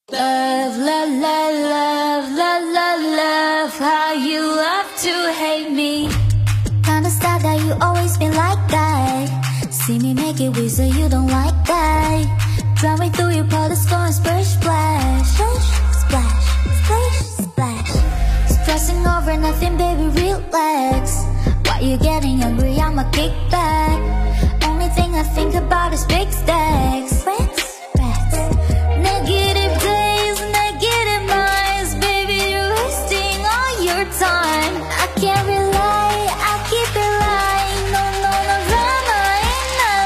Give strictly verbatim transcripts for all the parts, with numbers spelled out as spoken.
Love, love, love, love, love, love, love, how you love to hate me. Kinda sad that you always been like that. See me make it weird so you don't like that. Driving through your puddles going splish splash. Splish, splash, splish, splash. Stressing over nothing, baby, relax. Why you getting hungry, I'ma kick back. Only thing I think about is big stacks. Rats, rats. Negative days, negative minds. Baby, you're wasting all your time. I can't rely, I keep it lying. No, no, no drama in my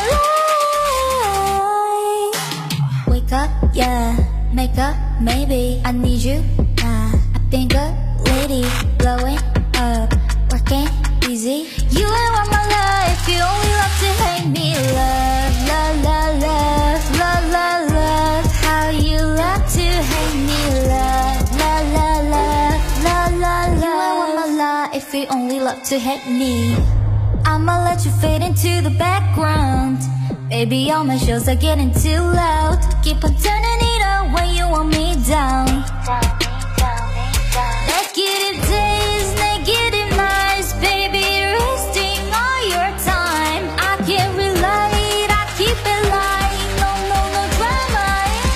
life. Wake up, yeah. Make up, maybe. I need you, nah. I've been good, lady. Blowing up, working easy. You ain't want my life, you only love to hate me. Love, love, love, love, love, love, love, how you love to hate me. Love, love, love, love, love, love, love. You ain't want my life, you only love to hate me. I'ma let you fade into the background. Baby, all my shows are getting too loud. Keep on turning it on when you want me down. Negative days, negative nights. Baby, you're wasting all your time. I can't relate, I keep it lying. No, no, no drama in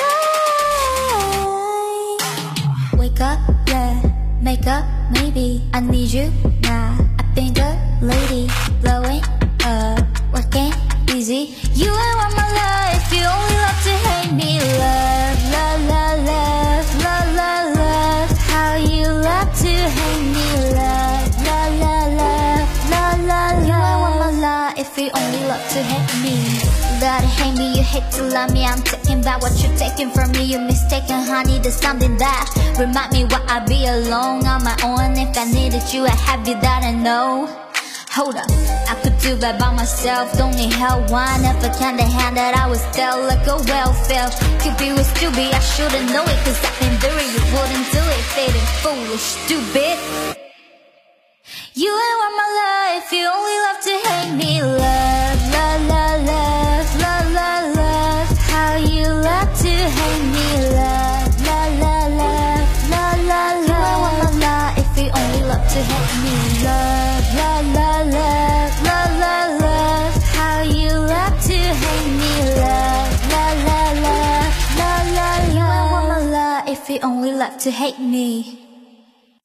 my life. Wake up, yeah. Make up, maybe. I need you, nah. I've been good, lady. Blowing up, working easy. You ain't want my life, you only love to hate me. Love, love, love, love, love, love, love, how you love to hate me. Love, love, love, love, love, love, you ain't want my life, you only love to hate me. You gotta hate me, you hate to love me. I'm taking back what you're taking from me. You're mistaken, honey, there's something that remind me why I be alone on my own. If I needed you, I have you that I know. Hold up, I could do that by myself. Don't need help, one never kinda hand that I was dealt like a welfare. Cupid was stupid, I should've known it. Cause I've been doing, you wouldn't do it. Fading foolish, stupid. You ain't want my life, you only love to hate me. Love, love, love, love, love, love, love, how you love to hate me. Love, love, love, love, love, love, love. You ain't want my life, you only love to hate me. Love, love, love, love, love, love, love, how you love to hate me. Love, love, love, love, love, love, love. You ain't want my life, you only love to hate me.